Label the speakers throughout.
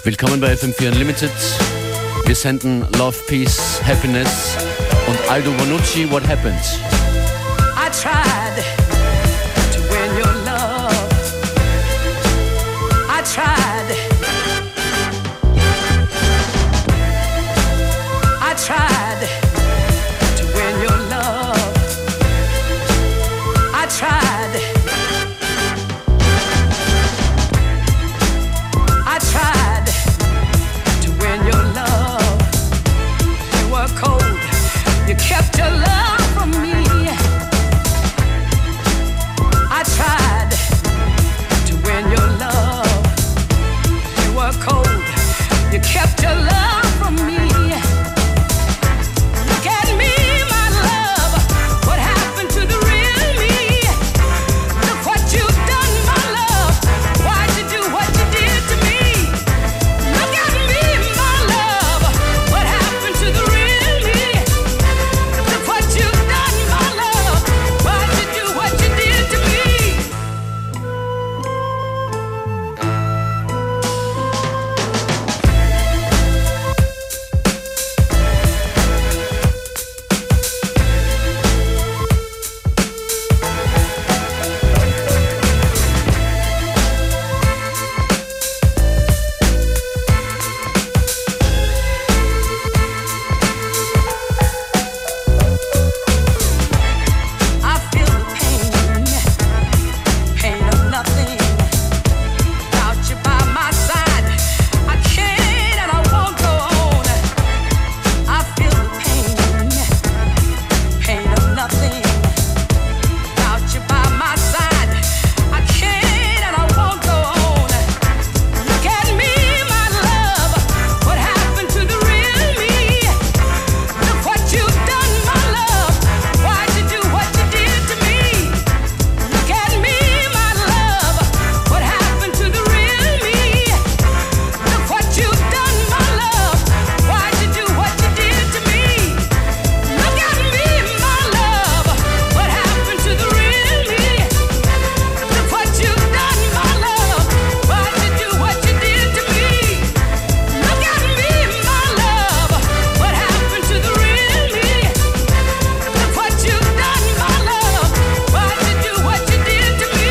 Speaker 1: Willkommen bei FM4 Unlimited. Wir senden Love, Peace, Happiness und Aldo Bonucci, What Happened?
Speaker 2: I tried to win your love. I tried. I tried to win your love. I tried. I tried to win your love. You were cold. You kept your love from me. I tried to win your love. You were cold. You kept your love from me. Look at me, my love. What happened to the real me? Look what you've done, my love. Why'd you do what you did to me? Look at me, my love. What happened to the real me? Look what you've done, my love. Why'd you do what you did to me? I feel the pain of nothing. Without you by my side, I can't and I won't go on. I feel the pain of nothing. Without you by my side, I can't and I won't go on. Look at me, my love. What happened to the real me? Look what you've done, my love. Why'd you do what you did to me? Look at me, my love. What happened to the real me? Look what you've done, my love. Why'd you do what you did to me? Look at me, my love. What happened to the real me? Look what you've done, my love. Why'd you do what you did to me? Look at me, my love. What happened to the real me? Look what you've done, my love. Why'd you do what you did to me?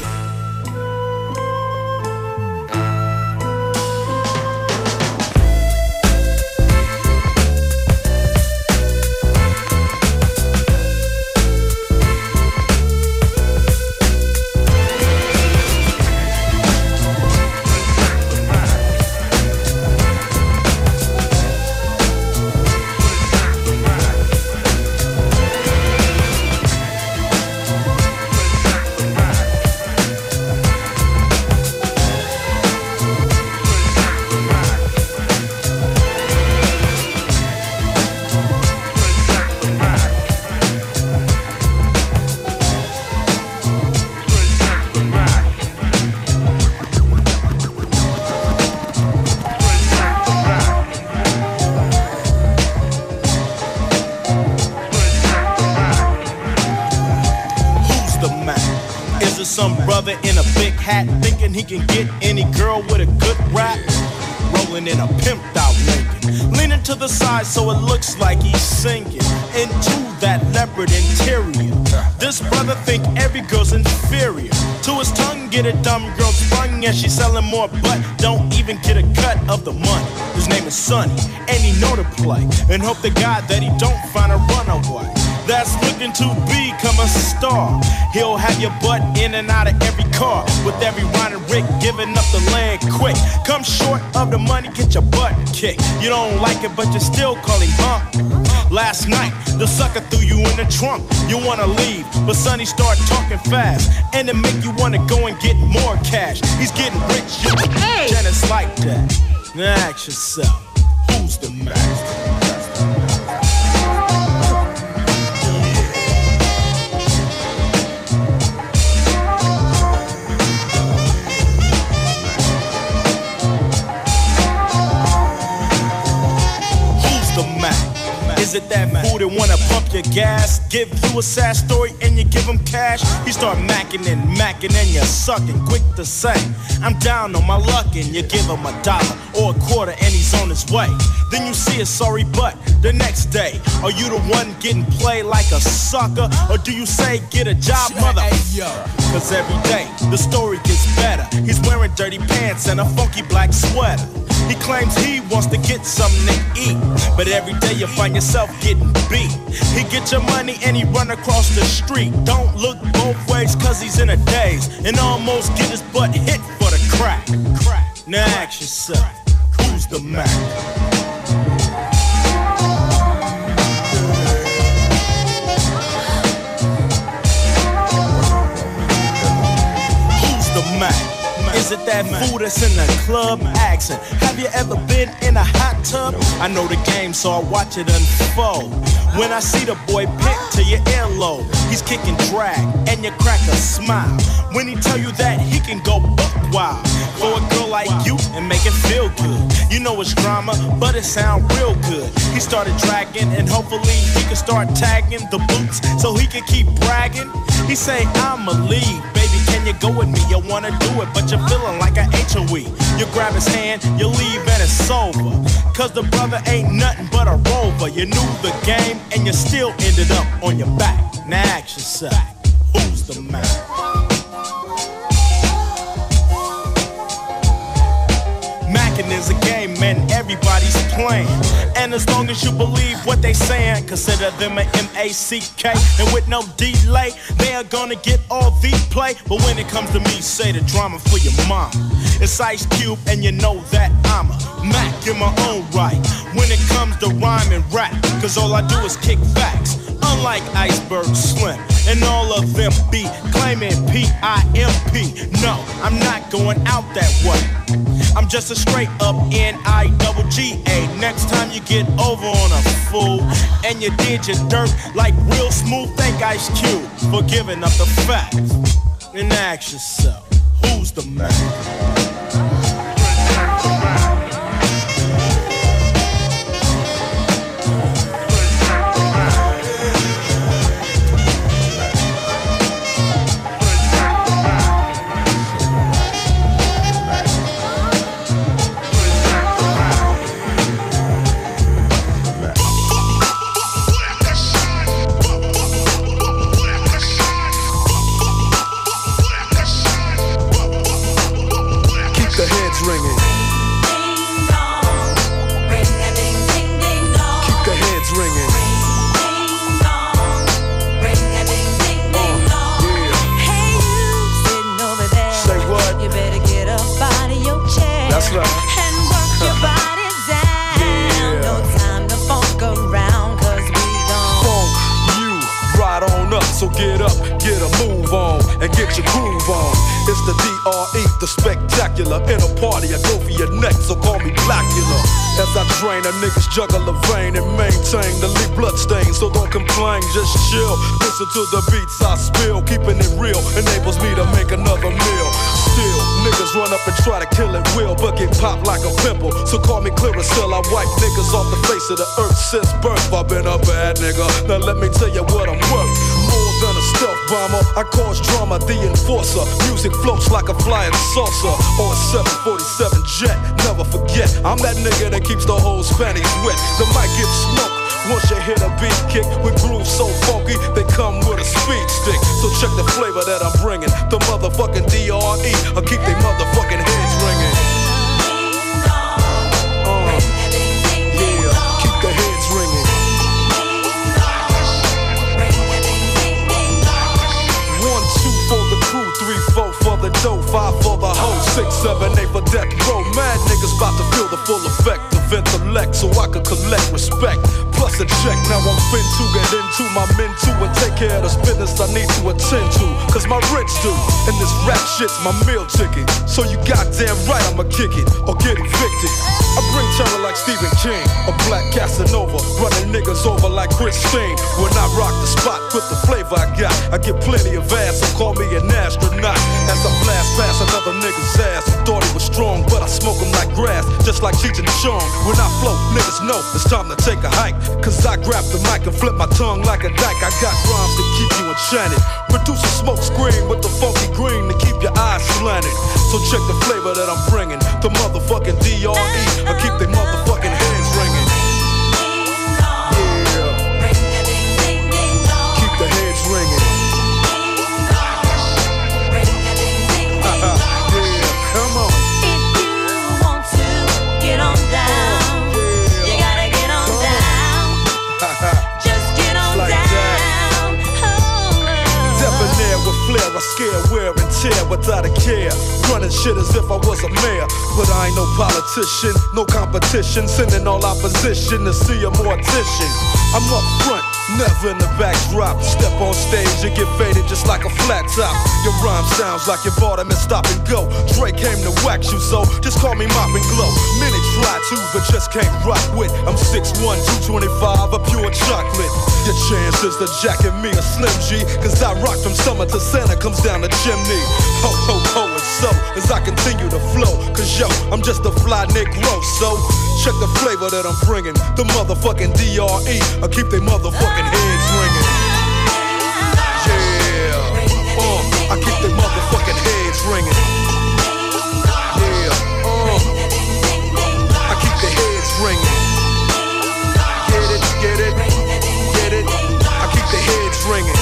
Speaker 3: Who's the man? Is it some brother in a big hat thinking he can get any girl with a good rap? Rolling in a pimped out Lincoln, leaning to the side so it looks like he's sinking into that leopard interior. This brother think every girl's inferior. To his tongue get a dumb girl sprung and she's selling more butt, don't even get a cut of the money. His name is Sonny and he know to play and hope to God that he don't find a runaway that's looking to become a star. He'll have your butt in and out of every car, with every Ron and Rick giving up the land quick. Come short of the money, get your butt kicked. You don't like it, but you still call him Last night, the sucker threw you in the trunk. You wanna leave, but Sonny start talking fast, and it make you wanna go and get more cash. He's getting rich, and it's like that. Now ask yourself, who's the master? Is it that fool that wanna pump your gas, give you a sad story and you you give him cash, he start macking and you're sucking. Quick to say, I'm down on my luck, and you give him $1 or a quarter and he's on his way. Then you see a sorry butt the next day. Are you the one getting played like a sucker? Or do you say get a job, mother? Cause every day the story gets better. He's wearing dirty pants and a funky black sweater. He claims he wants to get something to eat, but every day you find yourself getting beat. He get your money and he run across the street. Don't look both ways cause he's in a daze, and almost get his butt hit for the crack. Now ask yourself, who's the Mac? Is it that fool that's in the club accent? Have you ever been in a hot tub? I know the game, so I watch it unfold. When I see the boy pick to your earlobe, he's kicking drag and you crack a smile. When he tell you that he can go buck wild for a girl like you and make it feel good. You know it's drama, but it sound real good. He started dragging and hopefully he can start tagging the boots so he can keep bragging. He say, I'ma leave, baby, can you go with me? You wanna do it, but you're feeling like a HOE. You grab his hand, you leave and it's over. Cause the brother ain't nothing but a rover. You knew the game and you still ended up on your back. Now ask yourself, who's the man? Mackin' is a game, man, everybody's playing. And as long as you believe what they saying, consider them a M-A-C-K. And with no delay, they are gonna get all the play. But when it comes to me, say the drama for your mom. It's Ice Cube and you know that I'm a Mac in my own right. When it comes to rhyme and rap, cause all I do is kick facts. Unlike Iceberg Slim and all of them be claiming P-I-M-P. No, I'm not going out that way. I'm just a straight up N-I-double-G-A. Next time you get over on a fool and you did your dirt like real smooth, thank Ice Cube for giving up the facts. And ask yourself, who's the man?
Speaker 4: So get up, get a move on, and get your groove on. It's the D.R.E., the spectacular. In a party, I go for your neck, so call me Blackula. As I train, a niggas juggle a vein and maintain the lead bloodstains. So don't complain, just chill. Listen to the beats I spill. Keeping it real enables me to make another meal. Still, niggas run up and try to kill it will, but get popped like a pimple. So call me Clearasil. I wipe niggas off the face of the earth since birth. I've been a bad nigga. Now let me tell you what I'm worth. More than a stealth bomber, I cause drama, the enforcer. Music floats like a flying saucer or a 747 jet. Never forget, I'm that nigga that keeps the whole Spanish wet. The mic gets smoked once you hit a beat kick with grooves so funky they come with a speed stick. So check the flavor that I'm bringing. The motherfucking D.R.E. I'll keep they motherfucking heads ringing. Yeah, keep the heads ringing. 1, 2 for the crew, 3, 4 for the dough, 5 for the hoe, 6, 7, 8 for death row. Mad niggas about to feel the full effect of intellect, so I could collect respect. Plus a check, now I'm fin to get into my men too and take care of this business I need to attend to. Cause my rich do, and this rap shit's my meal ticket. So you goddamn right I'ma kick it or get evicted. I bring terror like Stephen King, a black Casanova, running niggas over like Christine. When I rock the spot with the flavor I got, I get plenty of ass, so call me an astronaut. As I blast past another nigga's ass, who thought he was strong, but I smoke him like grass, just like Cheech and Chong. When I float, niggas know it's time to take a hike. Cause Cause I grab the mic and flip my tongue like a dyke. I got rhymes to keep you enchanted. Produce a smoke screen with the funky green to keep your eyes slanted. So check the flavor that I'm bringing. The motherfucking D.R.E. I keep they motherfucking heads ringing. Yeah. Keep the heads ringing. Yeah, come on.
Speaker 5: If you want to get on down, you gotta get on down. Just get on
Speaker 4: Like
Speaker 5: down.
Speaker 4: Debonair with flair, I scare, wear and tear without a care. Running shit as if I was a mayor. But I ain't no politician, no competition. Sending all opposition to see a mortician. I'm up front, never in the backdrop. Step on stage and get faded just like a flat top. Your rhyme sounds like you bought him and stop and go. Dre came to wax you, so just call me Mop and Glow. Many try to, but just can't rock with. I'm 6'1", 225, a pure chocolate. Your chances to jacket me a Slim G, cause I rock from summer to Santa comes down the chimney. Ho, ho, ho, and so, as I continue to flow, cause yo, I'm just a fly Negro, so check the flavor that I'm bringing. The motherfucking D.R.E. I keep they motherfucking heads ringing. Yeah, I keep they motherfucking heads ringing. Yeah, I keep the heads ringing. Get it, get it, get it. I keep the heads ringing.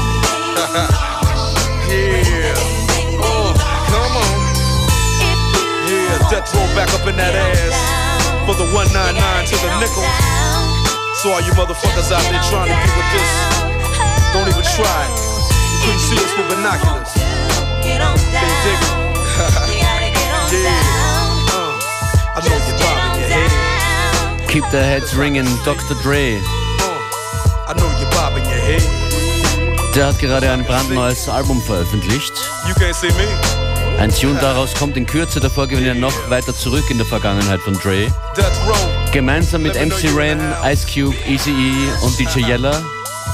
Speaker 4: Yeah, come on. Yeah, death roll back up in that ass for the 199 to the nickel. So all you motherfuckers out there trying to get with this, don't even try it. You couldn't see us with binoculars. They dig it. Yeah, I know you're bobbing your head.
Speaker 1: Keep the heads ringing, Dr. Dre.
Speaker 4: I know you're bobbing your head.
Speaker 1: Der hat gerade ein brandneues Album veröffentlicht.
Speaker 4: You can't see me.
Speaker 1: Ein Tune daraus kommt in Kürze, davor gehen wir noch weiter zurück in der Vergangenheit von Dre.
Speaker 4: Death Row.
Speaker 1: Gemeinsam mit MC Ren, Ice Cube, Eazy-E und DJ Yella
Speaker 4: Yeah,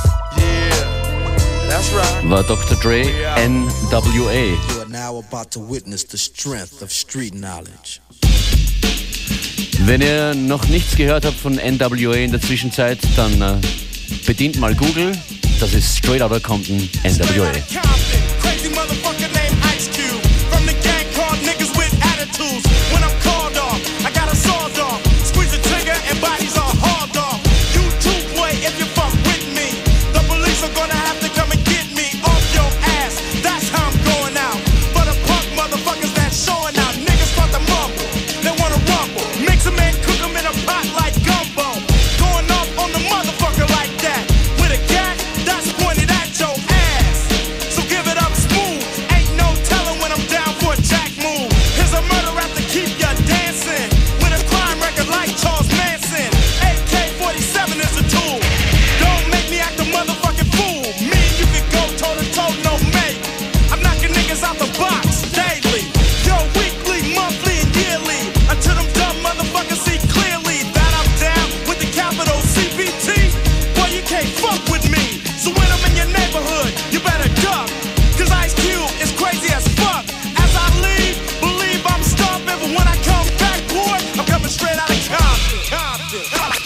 Speaker 4: that's right.
Speaker 1: war Dr. Dre NWA.
Speaker 6: You are now about to witness the strength of street knowledge.
Speaker 1: Wenn ihr noch nichts gehört habt von NWA in der Zwischenzeit, dann bedient mal Google. Das ist Straight Outta Compton NWA.
Speaker 3: Crazy motherfucker named Ice Cube. From the gang called niggas with attitudes. When I'm called off, I got a sawed off. Squeeze the trigger and bodies are hauled off. You too, boy, if you fuck with me. The police are gonna have to come and get me off your ass. That's how I'm going out. For the punk motherfuckers that's showing out. Niggas start to mumble, they wanna rumble. Mix them and cook them in a pot like gumbo. Going off on the motherfucker like that. With a gat that's pointed at your ass. So give it up smooth. Ain't no telling when I'm down for a jack move. Here's a murder rap to keep ya dancing. With a crime record like Charles Manson. AK-47 is a tool. Don't make me act a motherfucking fool. Me and you can go toe to toe, no mate. I'm knocking niggas out the box daily. Yo, weekly, monthly, and yearly. Until them dumb motherfuckers see clearly that I'm down with the capital CPT. Boy, you can't fuck with me. So when I'm in your neighborhood, you better duck. Cause Ice Cube is crazy as fuck. As I leave, believe I'm stomping. But when I come back, boy, I'm coming straight out of Compton.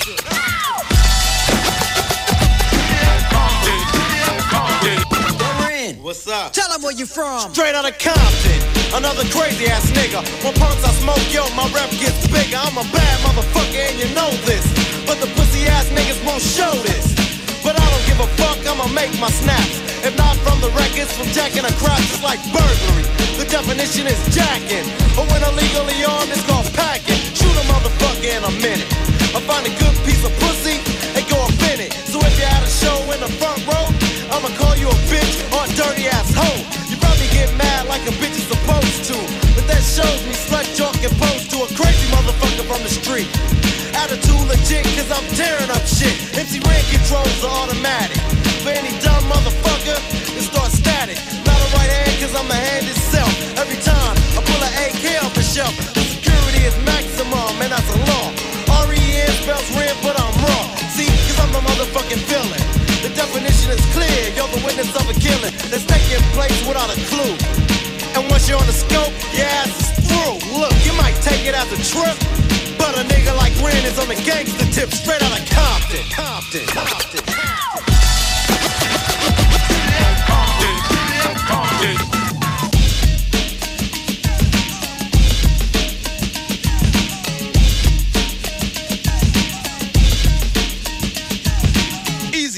Speaker 6: What's up? Tell them where you from.
Speaker 3: Straight out of Compton, another crazy ass nigga. When punks I smoke, yo, my rep gets bigger. I'm a bad motherfucker and you know this. But the pussy ass niggas won't show this. But I don't give a fuck, I'ma make my snaps. If not from the records, from jacking a crop, it's like burglary. The definition is jacking. But when illegally armed, it's called packing. Shoot a motherfucker in a minute. I find a good piece of pussy, and go up in it. So if you had a show in the front row, I'ma call you a bitch or a dirty ass hoe. You probably get mad like a bitch is supposed to. But that shows me slut joke and pose to a crazy motherfucker from the street. Attitude legit, cause I'm tearing up shit. MC Ren controls are automatic. For any dumb motherfucker, it starts static. Not a right hand, cause I'm the hand itself. Every time I pull an AK off the shelf, the security is maximum, and that's a law. R-E-N spells red, but I'm raw. See, cause I'm the motherfucking villain. The definition is clear, you're the witness of a killing that's taking place without a clue. And once you're on the scope, your ass is through. Look, you might take it as a trip, but a nigga like Ren is on the gangster tip, straight out of Compton.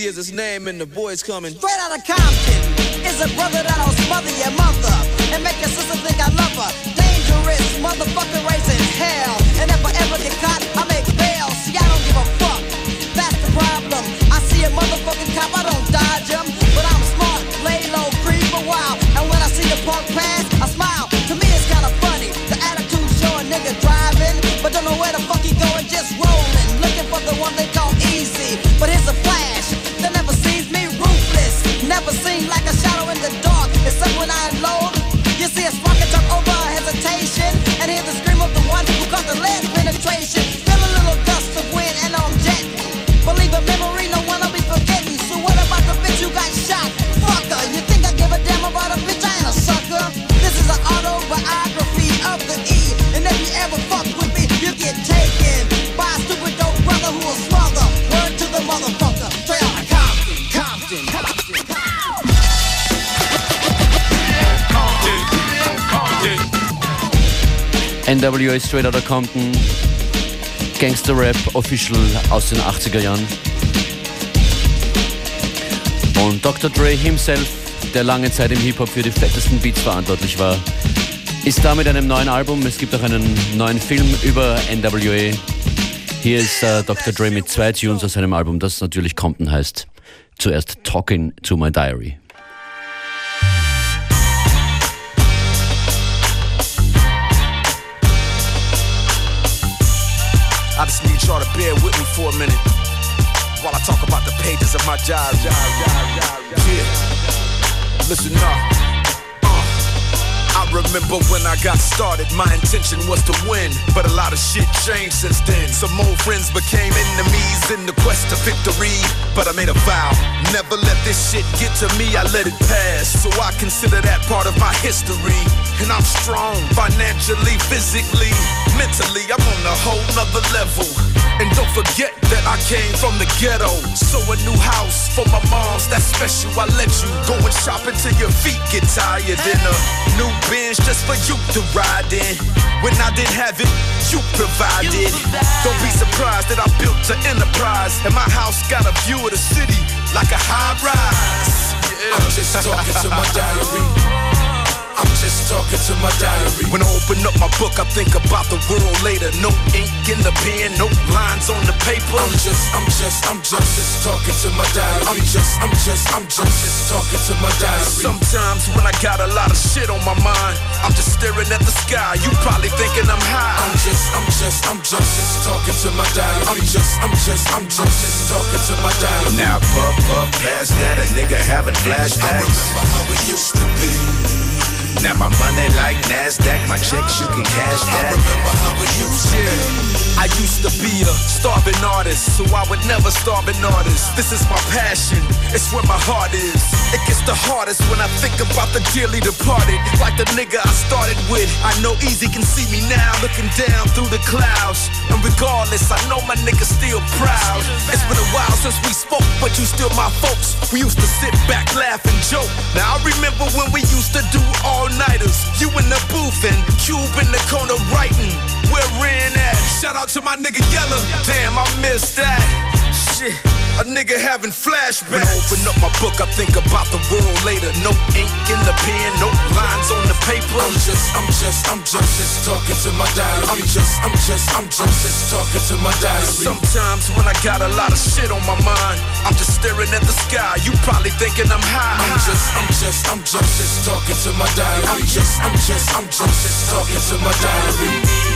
Speaker 6: Easy is his name, and the boy's coming.
Speaker 7: Straight out of Compton is a brother that'll smother your mother and make your sister think I love her. Dangerous motherfucker raising hell, and if I ever get caught, I make bail. See, I don't give a fuck. That's the problem. I see a motherfucking cop, I don't dodge him, but I'm smart, lay low, creep a while, and when I see the punk pass, I smile. To me, it's kind of funny. The attitude show a nigga driving, but don't know where the fuck he going, just rolling, looking for the one they call easy. But here's a flash that never sees me, ruthless, never seen like a shadow in the dark, except when I unload. You see a spark and jump over hesitation, and hear the scream of the one who caused the lead penetration. Feel a little gust of wind and I'm jetting. Believe a memory, no one will be forgetting. So what about the bitch who got shot? Fucker, you think I give a damn about a bitch? I ain't a sucker. This is an autobiography of the E, and if you ever fuck with me, you get taken by a stupid dope brother who will smother. Word to the motherfucker. Straight out of Compton.
Speaker 1: NWA Straight Outta Compton, Gangster-Rap, Official aus den 80er Jahren. Und Dr. Dre himself, der lange Zeit im Hip-Hop für die fettesten Beats verantwortlich war, ist da mit einem neuen Album. Es gibt auch einen neuen Film über NWA. Hier ist Dr. Dre mit 2 Tunes aus seinem Album, das natürlich Compton heißt. Zuerst Talking to My Diary.
Speaker 8: I just need y'all to bear with me for a minute while I talk about the pages of my diary. Yeah, listen up. I remember when I got started, my intention was to win, but a lot of shit changed since then. Some old friends became enemies in the quest to victory, but I made a vow, never let this shit get to me, I let it pass. So I consider that part of my history, and I'm strong, financially, physically, mentally, I'm on a whole nother level. And don't forget that I came from the ghetto, so a new house for my moms, that's special. I let you go and shop until your feet get tired, and a new Benz just for you to ride in. When I didn't have it, you provided. Don't be surprised that I built an enterprise, and my house got a view of the city like a high rise. Yeah. I'm just talking to my diary. I'm just talking to my diary. When I open up my book, I think about the world later. No ink in the pen, no lines on the paper. I'm just talking to my diary. I'm just talking to my diary. Sometimes when I got a lot of shit on my mind, I'm just staring at the sky. You probably thinking I'm high. I'm just talking to my diary. I'm just talking to my diary.
Speaker 9: Now puff past that, a nigga having flashbacks. I remember how it used to be. Now my money like NASDAQ, my checks you can cash that. I remember how it used to be.
Speaker 8: I used to be a starving artist, so I would never starve an artist. This is my passion, it's where my heart is. It gets the hardest when I think about the dearly departed. Like the nigga I started with, I know Easy can see me now, looking down through the clouds. And regardless, I know my nigga's still proud. It's been a while since we spoke, but you still my folks. We used to sit back, laugh and joke. Now I remember when we used to do all-nighters. You in the booth and Cube in the corner writing. Where Ren at? Shout out to my nigga Yella. Damn, I missed that. Shit, a nigga having flashbacks. When I open up my book, I think about the world later. No ink in the pen, no lines on the paper. I'm just talking to my diary. I'm just talking to my diary. Sometimes when I got a lot of shit on my mind, I'm just staring at the sky. You probably thinking I'm high. I'm just talking to my diary. I'm just talking to my diary.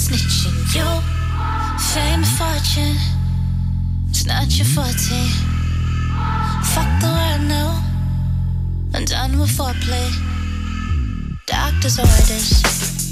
Speaker 5: snitching. You, fame, fortune, it's not your forte. Fuck the world now, I'm done with foreplay. Doctor's orders,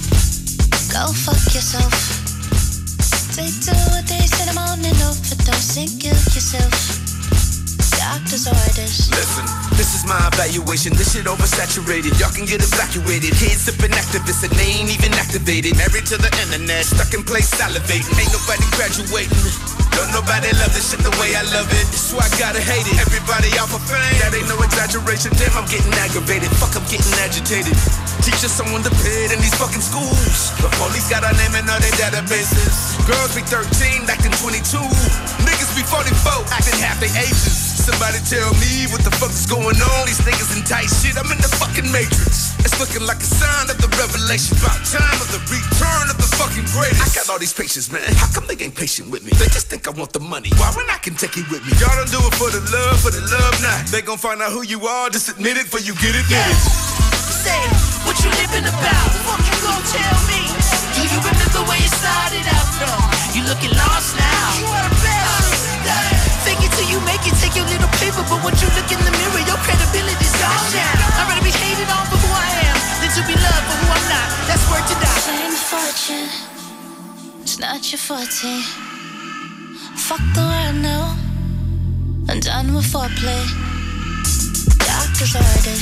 Speaker 5: go fuck yourself. Take 2 a day, in the morning, overdose and kill yourself. Doctor's orders.
Speaker 9: Listen, this is my evaluation. This shit oversaturated. Y'all can get evacuated. Kids sipping activists and they ain't even activated. Married to the internet, stuck in place salivating. Ain't nobody graduating. Don't nobody love this shit the way I love it. That's why I gotta hate it. Everybody out for fame. That ain't no exaggeration. Damn, I'm getting aggravated. Fuck, I'm getting agitated. Teach us someone to pay in these fucking schools. The police got our name in all their databases. Girls be 13, acting 22. Niggas be 44, acting half their ages. Somebody tell me what the fuck is going on. These niggas in tight shit, I'm in the fucking matrix. It's looking like a sign of the revelation. About time of the return of the fucking greatest. I got all these patients, man. How come they ain't patient with me? They just think I want the money. Why when I can take it with me? Y'all don't do it for the love not. They gon' find out who you are, just admit it before you get it, get it.
Speaker 2: Say, what you living about? Fuck you gon' tell me? Do you remember where you started out from? You looking lost now. You are the best. Fake it till you make it, take your little paper. But once you look in the mirror, your credibility's gone now. I'd rather be hated on for who I am than to be loved for who I'm not. That's worth to die.
Speaker 5: Fame, fortune, it's not your forte. Fuck the world now, I'm done with foreplay. Doctor's orders,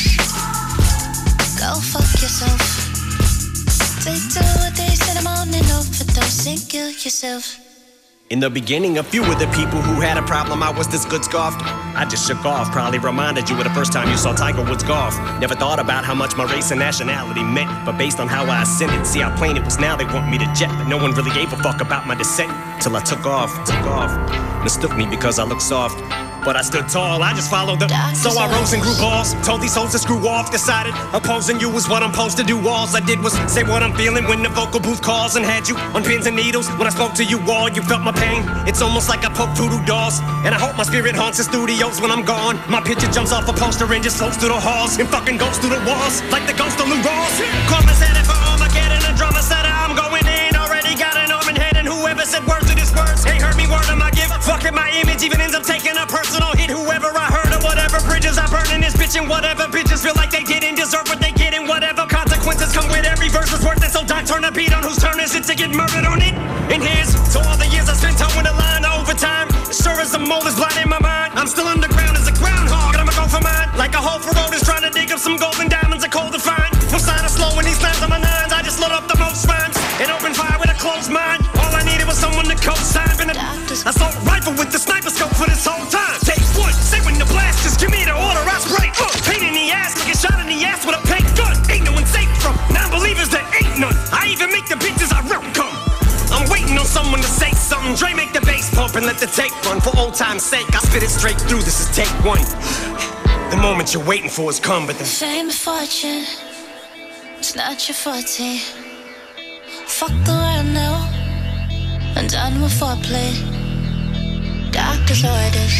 Speaker 5: go fuck yourself. Take 2 a day, in the morning, overdose and kill yourself.
Speaker 10: In the beginning, a few of the people who had a problem I was this good scoffed. I just shook off, probably reminded you of the first time you saw Tiger Woods golf. Never thought about how much my race and nationality meant, but based on how I ascended, see how plain it was now they want me to jet. But no one really gave a fuck about my descent, till I took off. Mistook me because I look soft, but I stood tall, I just followed them. So I rose and grew balls, told these hoes to screw off. Decided opposing you was what I'm supposed to do. All I did was say what I'm feeling when the vocal booth calls, and had you on pins and needles. When I spoke to you all, you felt my pain. It's almost like I poke voodoo dolls, and I hope my spirit haunts the studios when I'm gone. My picture jumps off a poster and just floats through the halls, and fucking goes through the walls like the ghost of Lou Rawls. Karma's headed for Armageddon, a drama setter, I'm going in. Already got an arm and head, and whoever said words to this words ain't heard me word of my gift. Fucking my image even ends up taking a personal hit. Whoever I heard or whatever bridges I burn in this bitch, and whatever bitches feel like they didn't deserve what they get, and whatever consequences come with every verse was worth it. So don't turn a beat on whose turn is it to get murdered on it. And here's to all the years I spent towing the line overtime. Sure as the mold is blind in my mind, I'm still underground as a groundhog, and I'ma go for mine. Like a hole for road is trying to dig up some golden diamonds, are cold to find. No sign of slow when these lines on my nines. I just load up the most rhymes and open fire with a closed mind. All I needed was someone to co-sign. Been an assault rifle with the sniper scope for this whole time. Take one, say when the blast, just give me the order, I spray. Pain in the ass, like a shot in the ass with a paint gun. Ain't no one safe from non-believers, there ain't none. I even make the bitches I rep come. I'm waiting on someone to say something. Dre make the bass pump and let the tape run. For old time's sake, I spit it straight through, this is take one. The moment you're waiting for has come, but the
Speaker 5: fame, fortune, it's not your forte. Fuck the world now, I'm done with foreplay. Doctor's orders,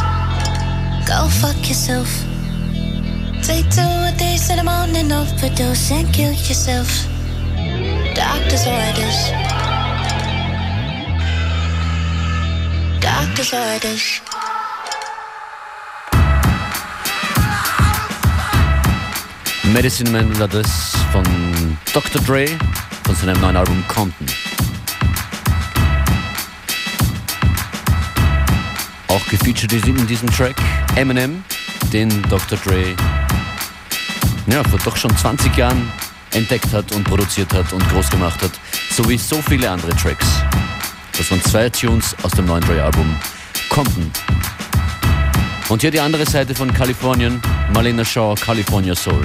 Speaker 5: go fuck yourself. Take 2 a day, in the morning, overdose and kill yourself. Doctor's orders, doctor's orders.
Speaker 1: Medicine Man war das von Dr. Dre von seinem neuen Album Compton. Auch gefeatured in diesem Track Eminem, den Dr. Dre vor doch schon 20 Jahren entdeckt hat und produziert hat und groß gemacht hat, so wie so viele andere Tracks. Das waren 2 Tunes aus dem neuen Dre-Album Compton. Und hier die andere Seite von Kalifornien, Marlena Shaw, California Soul.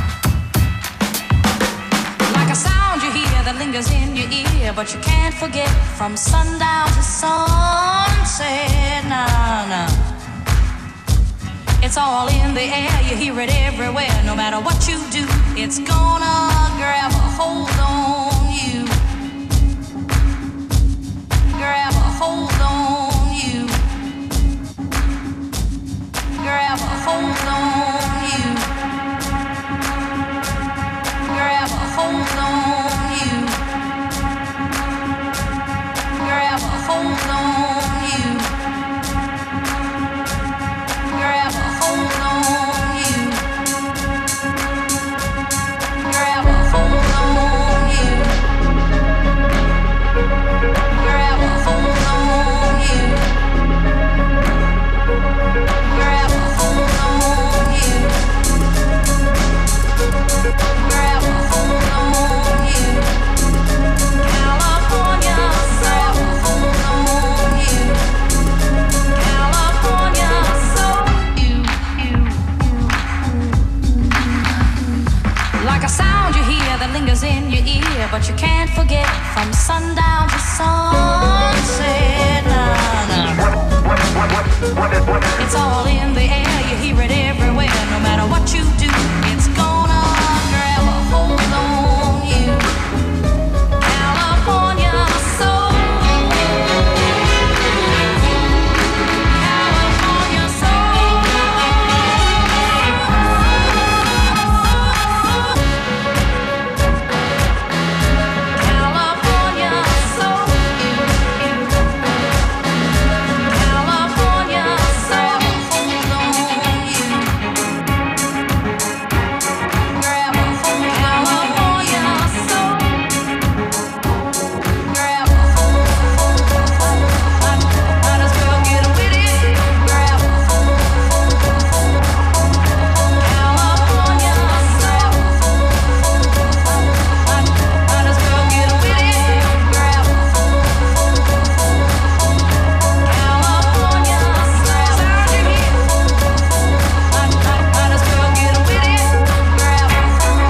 Speaker 11: Like a sound you hear that lingers in your ear, but you can't forget from sundown to sunset. Nah, nah. It's all in the air, you hear it everywhere. No matter what you do, it's gonna grab a hold on you. Grab a hold on you. Grab a hold on you. Grab a hold on you. lingers in your ear, but you can't forget from sundown to sunset. It's all in the air, you hear it everywhere. No matter what you do, it's gonna grab a hold on you. California soul. California soul. California soul. California soul. Hold on you. Grab a hold. California soul. Grab a hold. Might as well get with it. Grab a hold. California soul. Might as well get with it. Grab a hold. California soul. Sound you hear? Might as well get with it. Grab a hold.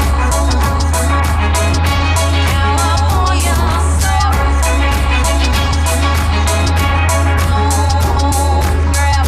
Speaker 11: California soul. Grab a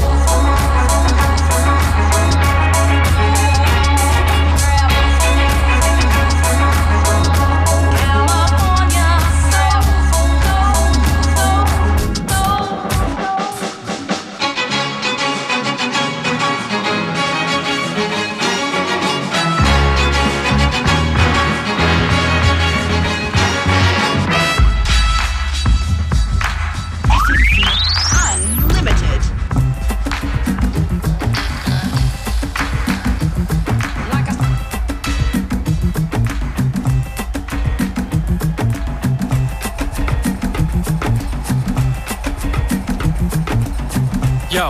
Speaker 12: Unlimited.
Speaker 13: Yo,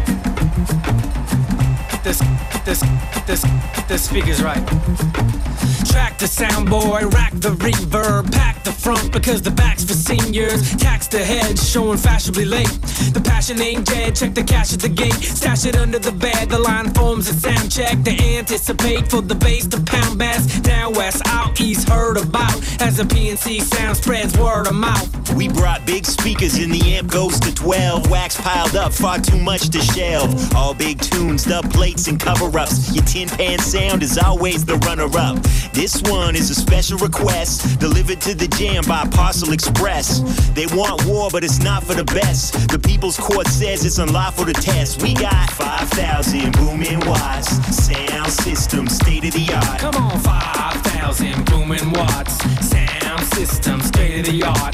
Speaker 13: this speaker's right. Track the sound boy, rack the reverb, pack the front because the back's for seniors. Tax the head, showing fashionably late. The passion ain't dead, check the cash at the gate. Stash it under the bed, the line forms a sound check. They anticipate for the bass to pound bass. Down west, out east, heard about as the PNC sound spreads word of mouth.
Speaker 14: We brought big speakers and the amp goes to 12. Wax piled up, far too much to shelve. All big tunes, dub plates and cover-ups. Your tin pan sound is always the runner-up. This one is a special request, delivered to the jam by Parcel Express. They want war, but it's not for the best. The People's Court says it's unlawful to test. We got 5,000 booming watts, sound system, state-of-the-art.
Speaker 13: Come on, 5,000 booming watts, sound system, state-of-the-art.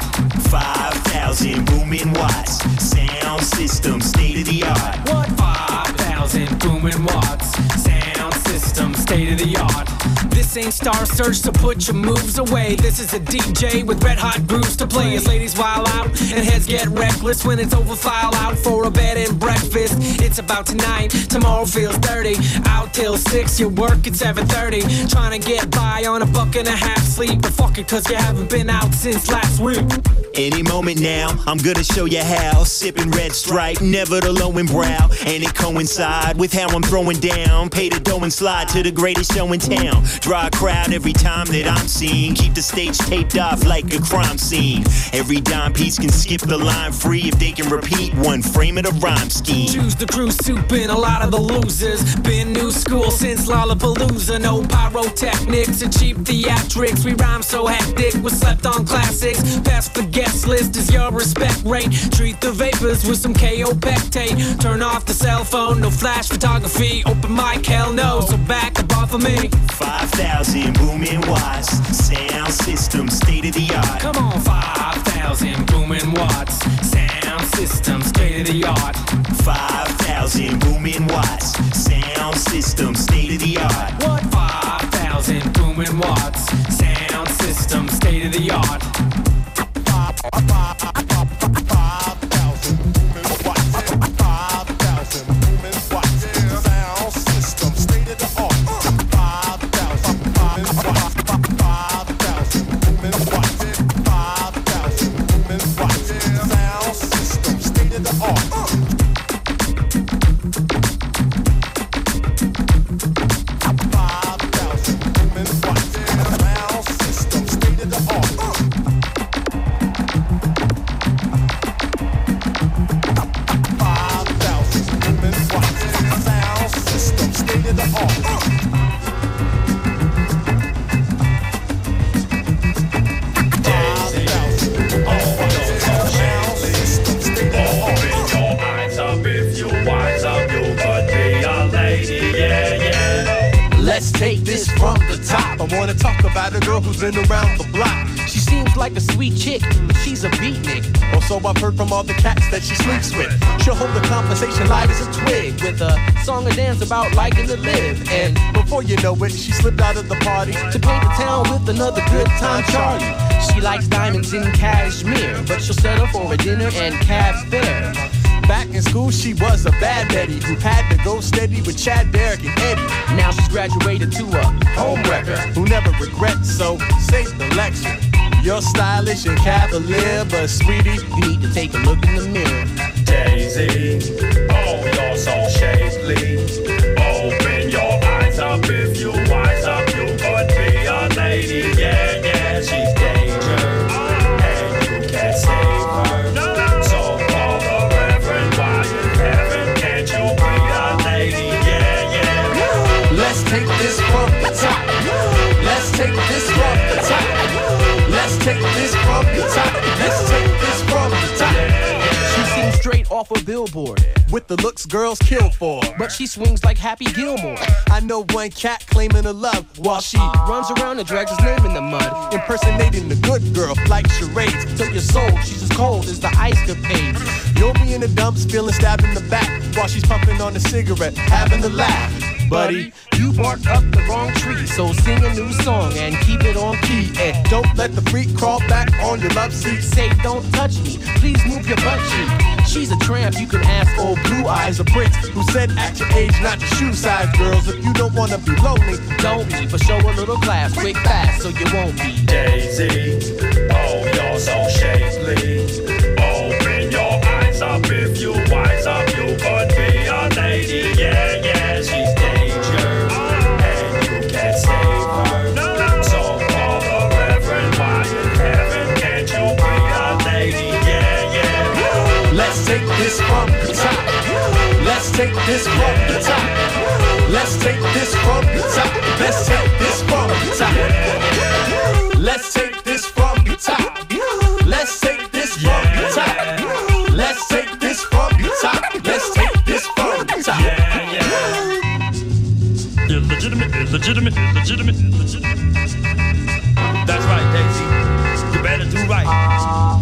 Speaker 14: 5,000 booming watts, sound system, state-of-the-art.
Speaker 13: What? 5,000 booming watts, sound system, state-of-the-art. This ain't Star Search, so put your moves away. This is a DJ with red hot grooves to play. As ladies wild out and heads get reckless when it's over, file out for a bed and breakfast. It's about tonight, tomorrow feels dirty. Out till 6, you work at 7:30. Trying to get by on $1.50 sleep, but fuck it, cause you haven't been out since last week.
Speaker 14: Any moment now, I'm gonna show you how. Sipping Red Stripe, never the lowing brow. And it coincide with how I'm throwing down. Pay the dough and slide to the greatest show in town. Draw a crowd every time that I'm seen. Keep the stage taped off like a crime scene. Every dime piece can skip the line free if they can repeat one frame of the rhyme scheme.
Speaker 13: Choose the crew soup and a lot of the losers. Been new school since Lollapalooza. No pyrotechnics and cheap theatrics. We rhyme so hectic with slept on classics. Best for guest list is your respect rate. Treat the vapors with some KO Pectate. Turn off the cell phone, no flash photography. Open mic, hell no, so back up off of me.
Speaker 14: 5,000 booming watts, sound system, state of the art.
Speaker 13: Come on, 5,000 booming watts, sound system, state of the art.
Speaker 14: 5,000 booming watts, sound system, state of the art.
Speaker 13: What? 5,000 booming watts, sound system, state of the art.
Speaker 14: 5,000
Speaker 12: this from the top. I wanna talk about a girl who's been around the block.
Speaker 15: She seems like a sweet chick, but she's a beatnik.
Speaker 12: Or so I've heard from all the cats that she sleeps with. She'll hold the conversation light as a twig,
Speaker 15: with a song and dance about liking to live.
Speaker 12: And before you know it, she slipped out of the party
Speaker 15: to paint the town with another good time Charlie. She likes diamonds in cashmere, but she'll settle for a dinner and cab fare.
Speaker 12: Back in school, she was a bad Betty who had to go steady with Chad, Derek, and Eddie.
Speaker 15: Now she's graduated to a homewrecker
Speaker 12: who never regrets, so save the lecture. You're stylish and cavalier, but sweetie,
Speaker 15: you need to take a look in the mirror.
Speaker 16: Daisy, oh, you're so shapely. Open your eyes up, if you wise up, you could be a lady. Yeah, yeah, she's danger, and you can't save her. So call the Reverend, why in heaven can't you be a lady? Yeah, yeah.
Speaker 12: Let's take this from the top. Let's take this from the top. Let's take this from the top. Let's take this from the top.
Speaker 15: She seems straight off a billboard,
Speaker 12: with the looks girls kill for,
Speaker 15: but she swings like Happy Gilmore.
Speaker 12: I know one cat claiming her love while she
Speaker 15: runs around and drags his name in the mud,
Speaker 12: impersonating the good girl like charades.
Speaker 15: To your soul, she's as cold as the ice capades.
Speaker 12: You'll be in the dumps feeling stabbed in the back while she's puffing on a cigarette, having a laugh. Buddy,
Speaker 15: you barked up the wrong tree, so sing a new song and keep it on key.
Speaker 12: And don't let the freak crawl back on your love seat.
Speaker 15: Say, don't touch me, please move your butt cheek. She's a tramp, you can ask old Blue Eyes, a prince who said at your age not your shoe size. Girls, if you don't wanna be lonely, don't be, but show a little class, quick fast, so you won't be.
Speaker 16: Daisy, oh, you're so shapely. Open your eyes up, if you wise up, you could be a lady. Yeah, yeah, she's danger, and you can't save her. So call the Reverend, why in heaven can't you be a lady? Yeah, yeah.
Speaker 12: Let's take this from the top. Let's take this from the top. Let's take this from the top. Let's take this from the top. Let's take this from the top. Let's take this from the top. Let's take this from the top. Let's take this from the top.
Speaker 16: Yeah, yeah.
Speaker 17: Illegitimate, illegitimate, illegitimate, illegitimate.
Speaker 16: That's right, Daisy. You better do right.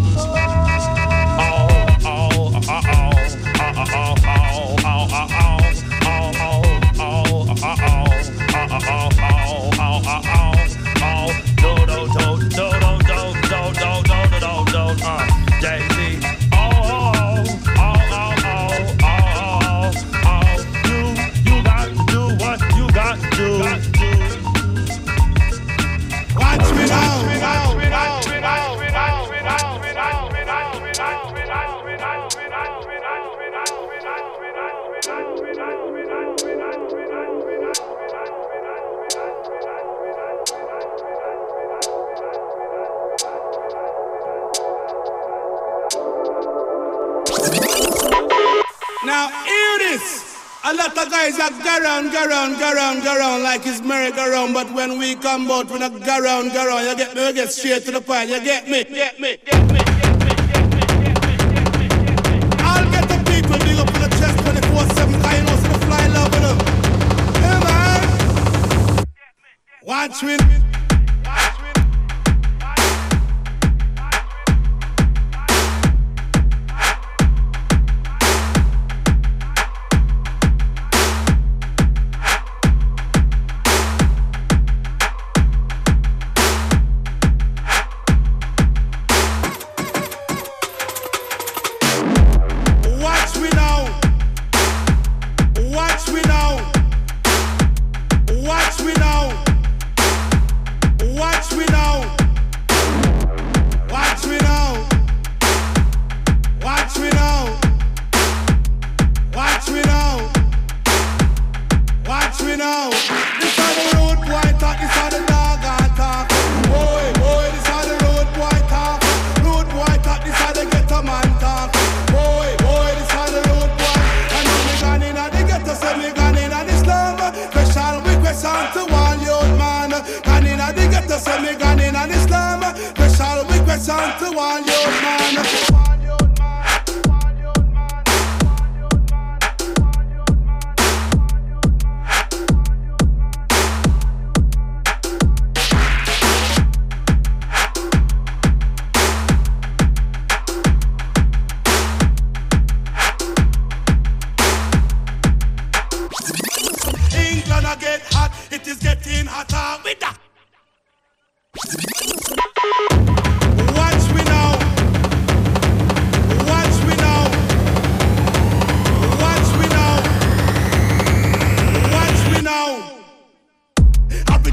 Speaker 18: Now hear this. A lot of guys that go round like it's merry-go-round, but when we come out, we not go round, you get me? We get straight to the point, you get me? I'll get the people big up in the chest 24/7, cause you know some fly love with them. Hey man, watch me.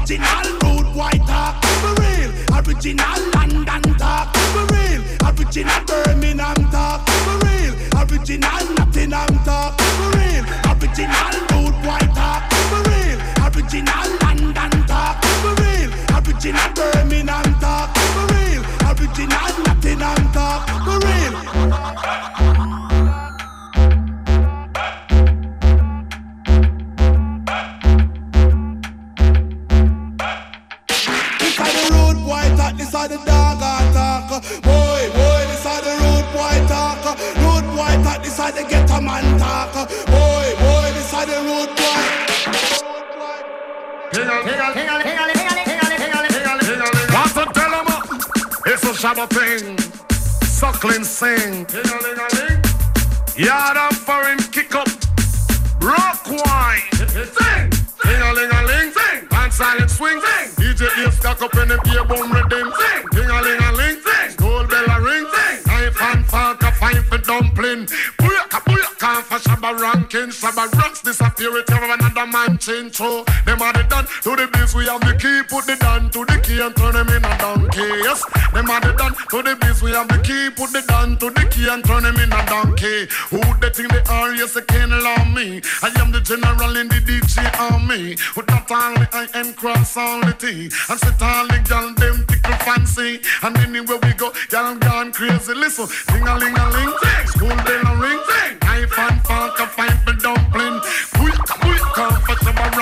Speaker 19: Original rude white talk, for real. Original London talk, for real. Original Birmingham talk, for real. Original Nottingham talk, for real. Original rude white talk, for real. Original London talk, for real. Original Birmingham talk, for real. Original Nottingham talk, for real. This are the dog talk, boy, this are the rude boy talk, rude boy talk, this are the ghetto man talk, boy, this are the rude boy.
Speaker 20: Want to tell them it's a shabba thing, suckling sing, yard and foreign kick up, rock wine, sing, ting-a-ling-a-ling, sing, and silent swing, sing. DJ is stuck up in the beer boom rhythm. Sing, ding-a-ling-a-ling, sing, school bell a ring, sing, knife and fork a fine for dumpling. Booyaka for Shabba ranking, Shabba rocks disappear with another man change. So them are the done to the biz, we have the key, put the down to the key and turn them in a donkey. Yes, them are the done to the biz, we have the key, put the down to the key and turn them in a donkey. Who they think they are? Yes, they can't allow me. I am the general in the DJ army. With not only I and cross all the T. And sit all the gal them tickle fancy. And anywhere we go, gal gone crazy. Listen, ding-a-ling-a-ling, school bell a ring, knife and fork a fight for dumpling. Come for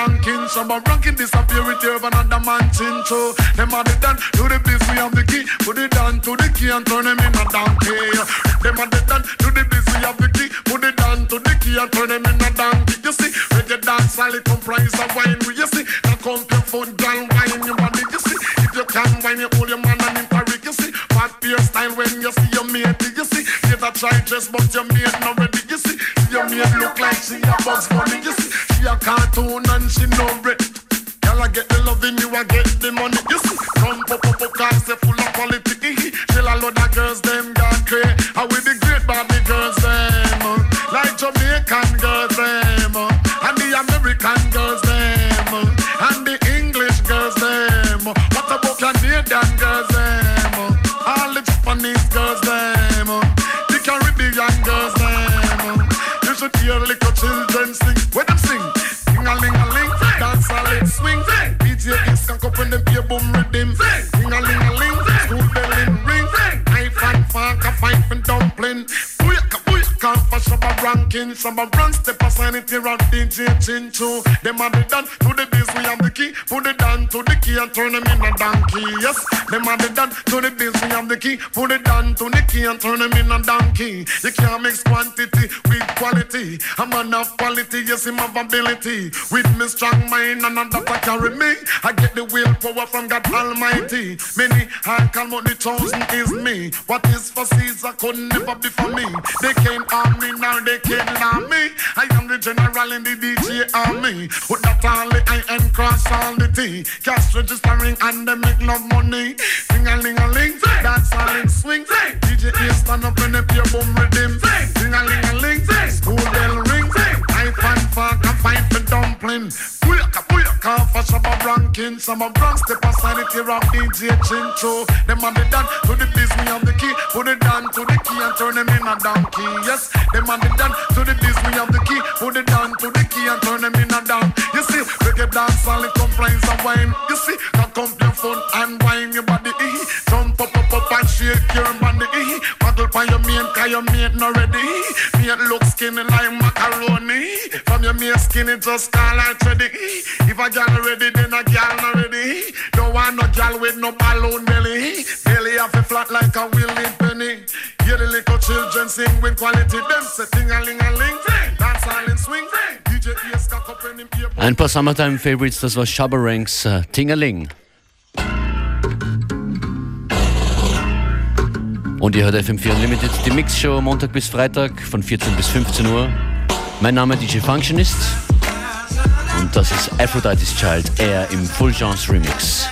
Speaker 20: Shabba ranking disappear with you another man chin. So them are the done to the biz, we have the key. Put it down to the key and turn them in a donkey. Them are the done to the biz, we have the key. Put it down to the key and turn them in a donkey. You see, reggae dance all it comprise of wine. You see, now come to phone, girl, wine your body. You see, if you can wine, you hold your man and in Paris. You see, fat beer style when you see your mate. You see, you a try dress but your mate not ready. You see, your mate look like she a Bugs Bunny. You see, she a cartoon and she no bread. Girl, I get the loving, you I get the money. You see, come pop cars, they full of quality. Still a lot of girls, them gone crazy. How with the great Barbie girls, them like Jamaican girls, them and the American girls, them and the English girls, them. What about Canadian girls, them? All the Japanese girls, them. The Caribbean girls, them. You should hear little children sing. When them sing, ding-a-ling-a-ling, dance a lit swing. DJ is cock up when them play boom rhythm. Ding-a-ling-a-ling, school bell in ring. Knife and fork a fight for dumpling. Booyaka for Shabba ranking, Shabba rank step aside it here on DJ Chincho. Them are the done to the biz, we have the key. Put it down to the key and turn them in a donkey. Yes, them are the done to the biz, we have the key. Put it down to the key and turn them in a donkey. You can't mix quantity with quality. A man of quality, yes, him have ability. With me strong mind and that I carry me. I get the willpower from God Almighty. Many I call but the chosen is me. What is for Caesar could never be for me. They can't harm me, now they can't harm me. I am the general in the DJ army. With that only I and cross all the T. Cash registering and they make love money. Ding-a-ling-a-ling, dance all in swing. DJ stand up in the pure boom rhythm. Ding-a-ling-a-ling, school bell ring. Knife and fork and fight for dumpling. Booyaka for Shabba ranking. Shabba rank step aside it here on DJ Chincho. Them are the done to the biz, we have the key. Put it down to the key and turn them in a donkey. Yes, them are the done to the biz, we have the key. Put it down to the key and turn them in a down. You see, reggae dance all it comprise of wine. You see, now come to fun and wine your body. Jump up and shake your body. Paddle by your mate, cause your mate not ready. Mate look skinny like macaroni. From your mate skinny just call out ready. If a girl ready, then a girl not ready. Don't want no girl with no balloon belly. Belly off a flat like a willing penny. Hear the little children sing with quality. Them say ting-a-ling-a-ling, dance all in swing. DJ is cock up in him ear.
Speaker 1: Ein paar Summertime Favorites, das war Shabba Ranks Ting-a-ling. Und ihr hört FM4 Unlimited, die Mixshow Montag bis Freitag von 14 bis 15 Uhr. Mein Name ist DJ Functionist und das ist Aphrodite's Child, er im Full Chance Remix.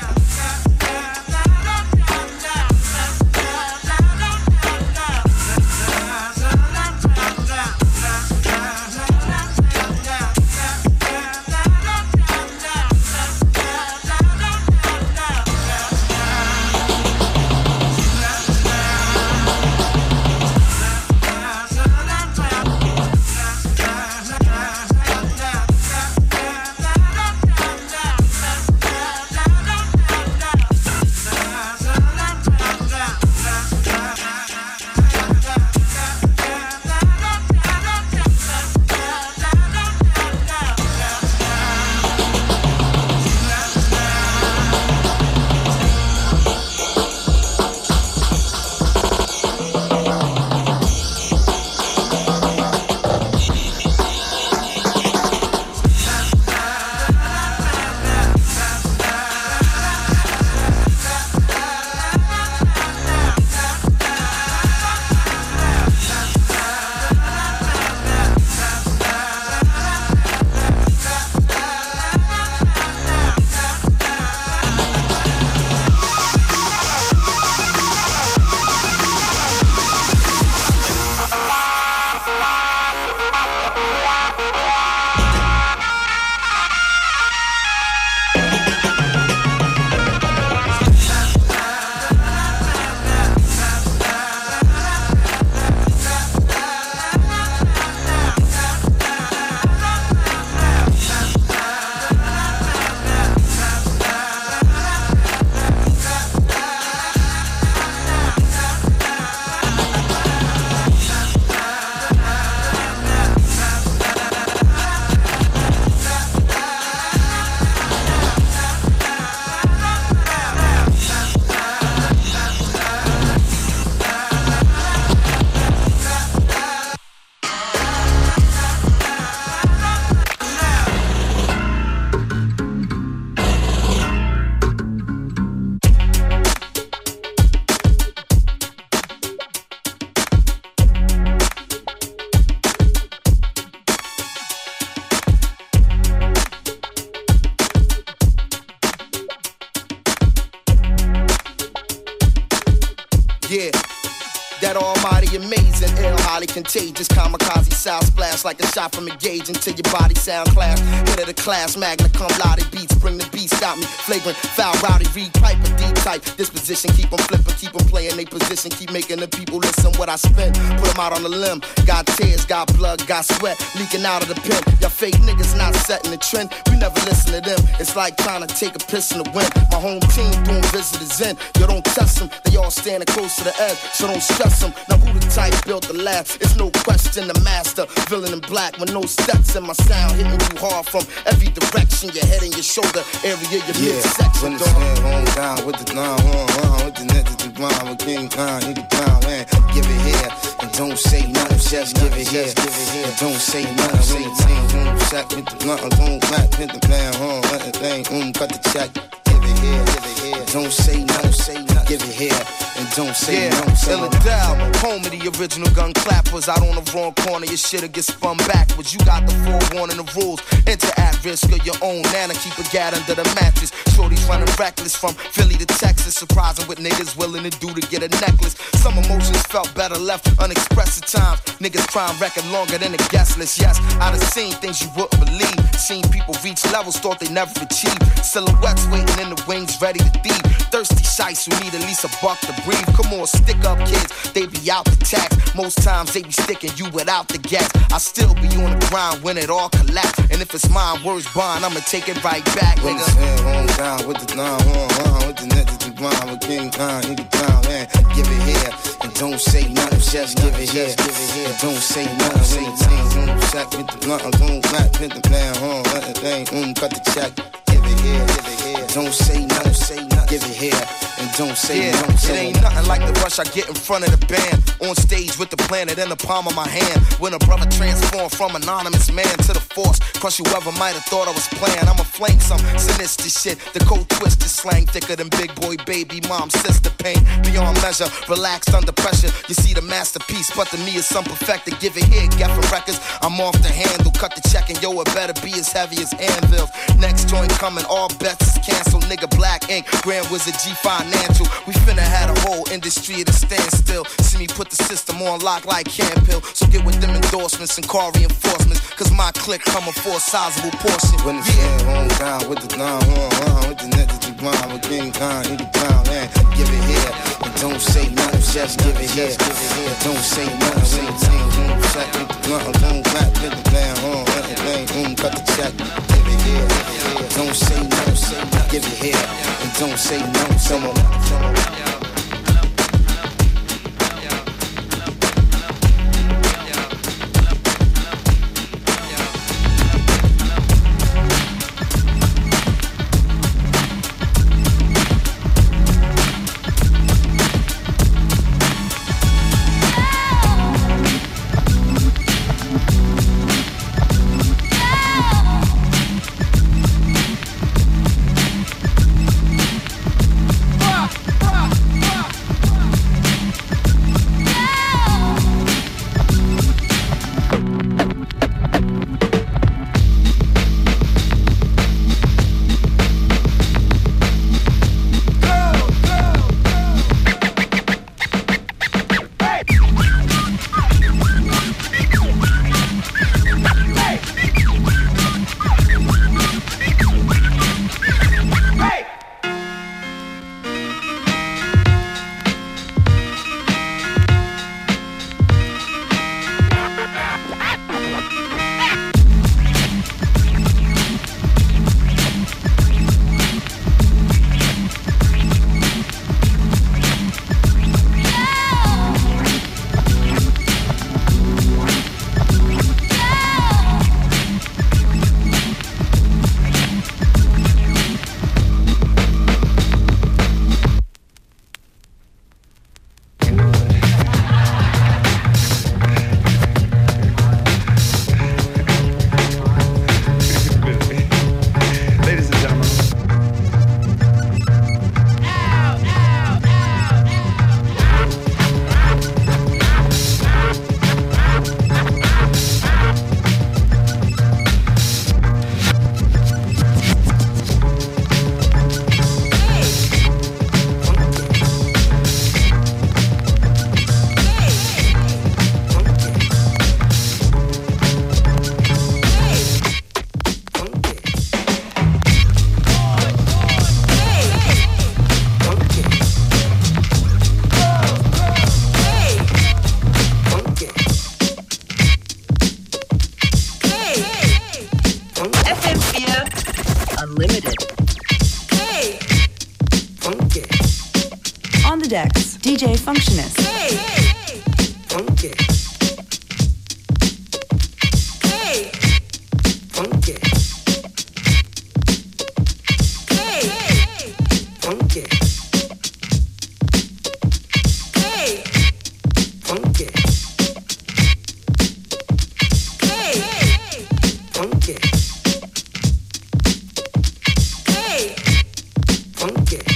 Speaker 8: Yeah. That almighty amazing, ill, highly contagious, kamikaze sound splash like a shot from a gauge until your body sound class. Hit of the class, magna cum laude beats, bring the beats, got me flagrant, foul, rowdy, read pipe, a deep type. Disposition, keep them flipping, keep them playing they position, keep making the people listen what I spent. Put them out on the limb, got tears, got blood, got sweat, leaking out of the pen. Y'all fake niggas not setting the trend, we never listen to them. It's like trying to take a piss in the wind. My home team doing visitors in, you don't test them, they all standing close to the edge, so don't stress them. Now who the type built the lab? It's no question the master, villain in black with no steps in my sound, hitting you hard from every direction, your head and your shoulder area, your midsection.
Speaker 21: When the stand home down with the line, with the net to the ground, with King Khan, nigga down, man. Give it here and don't say nothing, just give it here. And don't say nothing, say sack with the blunt, boom, back, hit the plan, let the thing, cut the check. Give it here, don't say nothing, give it here, and don't say nothing.
Speaker 8: Philadelphia, home of the original gun clappers. Out on the wrong corner, your shit'll get spun backwards. You got the forewarning, the rules. Enter at risk of your own nana. Keep a gat under the mattress. Shorty's running reckless from Philly to Texas. Surprising what niggas willing to do to get a necklace. Some emotions felt better left unexpressed at times. Niggas crime record longer than a guest list. Yes, I done seen things you wouldn't believe. Seen people reach levels thought they never achieved. Silhouettes waiting in the wings, ready to thieve. Thirsty shites who need at least a buck to breathe. Come on, stick up kids, they be out the tax. Most times they be sticking you without the gas. I still be on the grind when it all collapse. And if it's mine, words bond, I'ma take it right back,
Speaker 21: when
Speaker 8: nigga.
Speaker 21: the stand home down with the line, with the net to the ground, with King Khan, nigga down, man. Give it here and don't say nothing, just give it here. And don't say nothing, say sack with the blunt, boom, back, hit the plan, let the thing, cut the check. Give it here, don't say nothing, give it here, and don't say nothing.
Speaker 8: It ain't nothing like the rush I get in front of the band. On stage with the planet in the palm of my hand. When a brother transformed from anonymous man to the force. Crush whoever might have thought I was playing. I'ma flame some sinister shit. The cold twisted slang thicker than big boy, baby, mom, sister. Pain beyond measure, relaxed under pressure. You see the masterpiece, but to me it's some perfected. Give it here, Geffen Records. I'm off the handle, cut the check, and yo, it better be as heavy as anvils. Next joint coming, all bets is canceled. Nigga, Black Ink, Grand Wizard, G Financial. We finna had a whole industry at a standstill. See me put the system on lock like Campbell. So get with them endorsements and car reinforcements. Cause my clique coming for a sizable portion.
Speaker 21: When the stand home down with the line, with the net to the ground, with King Khan, nigga down, man. Give it here and don't say nothing, just give it here. And don't say nothing, say sack with the blunt, boom, back, hit the plan, let the thing, cut the check. Give it here, don't say nothing, give it here, and don't say nothing, someone.
Speaker 4: the decks, DJ Functionist.
Speaker 22: Hey, funky. Hey, funky. Hey, funky. Hey, funky. Hey, funky. Hey, funky.